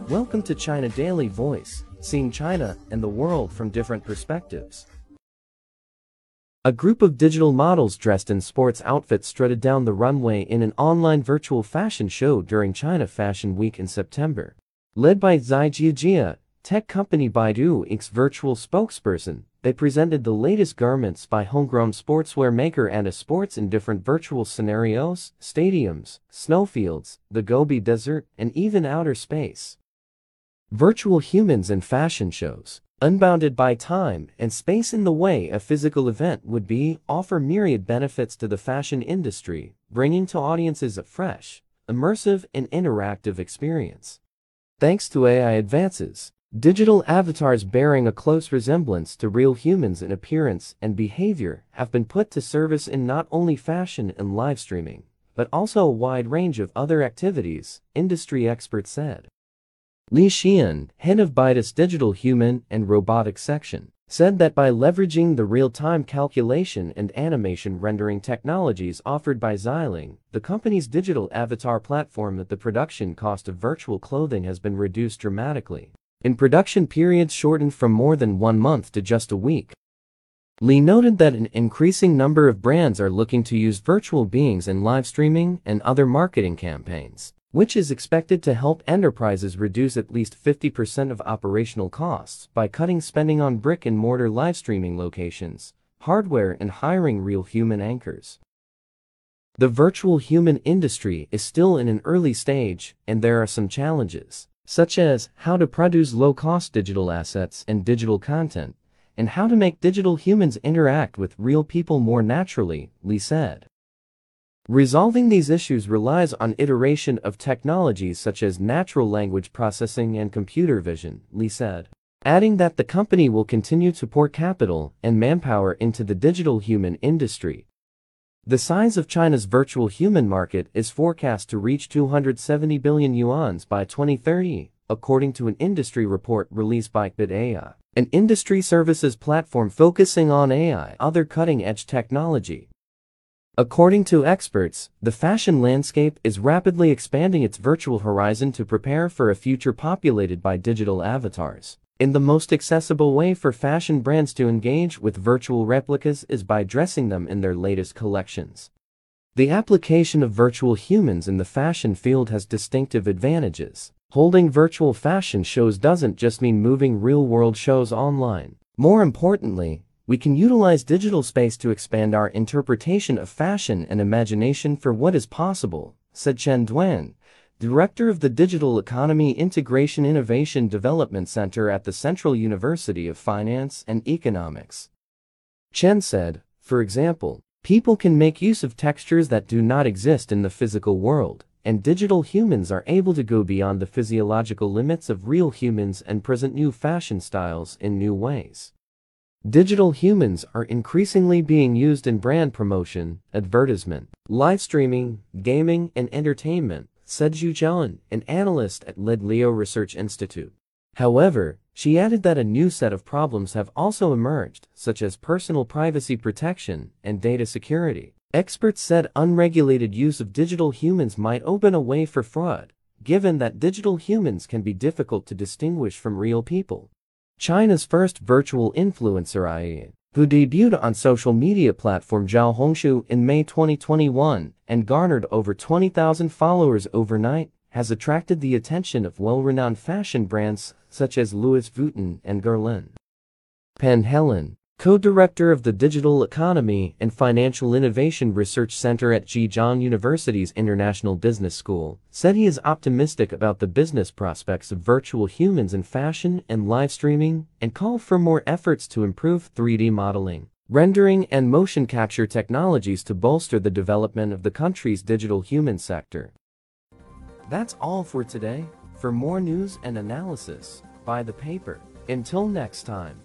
Welcome to China Daily Voice, seeing China and the world from different perspectives. A group of digital models dressed in sports outfits strutted down the runway in an online virtual fashion show during China Fashion Week in September. Led by Zai Jiajia, tech company Baidu Inc.'s virtual spokesperson, they presented the latest garments by homegrown sportswear maker Anta Sports in different virtual scenarios, stadiums, snowfields, the Gobi Desert, and even outer space. Virtual humans and fashion shows, unbounded by time and space in the way a physical event would be, offer myriad benefits to the fashion industry, bringing to audiences a fresh, immersive, and interactive experience. Thanks to AI advances, digital avatars bearing a close resemblance to real humans in appearance and behavior have been put to service in not only fashion and live streaming, but also a wide range of other activities, industry experts said. Li Xian, head of Baidu's digital human and robotics section, said that by leveraging the real-time calculation and animation rendering technologies offered by Xiling, the company's digital avatar platform, that the production cost of virtual clothing has been reduced dramatically, in production periods shortened from more than 1 month to just a week. Li noted that an increasing number of brands are looking to use virtual beings in live streaming and other marketing campaigns, which is expected to help enterprises reduce at least 50% of operational costs by cutting spending on brick-and-mortar live streaming locations, hardware, and hiring real human anchors. The virtual human industry is still in an early stage, and there are some challenges, such as how to produce low-cost digital assets and digital content, and how to make digital humans interact with real people more naturally, Li said. Resolving these issues relies on iteration of technologies such as natural language processing and computer vision, Li said, adding that the company will continue to pour capital and manpower into the digital human industry. The size of China's virtual human market is forecast to reach 270 billion yuan by 2030, according to an industry report released by BitAI, an industry services platform focusing on AI, other cutting-edge technology. According to experts, the fashion landscape is rapidly expanding its virtual horizon to prepare for a future populated by digital avatars. In the most accessible way for fashion brands to engage with virtual replicas is by dressing them in their latest collections. The application of virtual humans in the fashion field has distinctive advantages. Holding virtual fashion shows doesn't just mean moving real-world shows online. More importantly, we can utilize digital space to expand our interpretation of fashion and imagination for what is possible, said Chen Duan, director of the Digital Economy Integration Innovation Development Center at the Central University of Finance and Economics. Chen said, for example, people can make use of textures that do not exist in the physical world, and digital humans are able to go beyond the physiological limits of real humans and present new fashion styles in new ways. Digital humans are increasingly being used in brand promotion, advertisement, live streaming, gaming, and entertainment, said Zhu Jian, an analyst at Leo Research Institute. However, she added that a new set of problems have also emerged, such as personal privacy protection and data security. Experts said unregulated use of digital humans might open a way for fraud, given that digital humans can be difficult to distinguish from real people. China's first virtual influencer Ai, who debuted on social media platform Xiaohongshu in May 2021 and garnered over 20,000 followers overnight, has attracted the attention of well-renowned fashion brands such as Louis Vuitton and Guerlain. Pan Helen, co-director of the Digital Economy and Financial Innovation Research Center at Zhejiang University's International Business School, said he is optimistic about the business prospects of virtual humans in fashion and live streaming, and called for more efforts to improve 3D modeling, rendering, and motion capture technologies to bolster the development of the country's digital human sector. That's all for today. For more news and analysis, buy the paper. Until next time.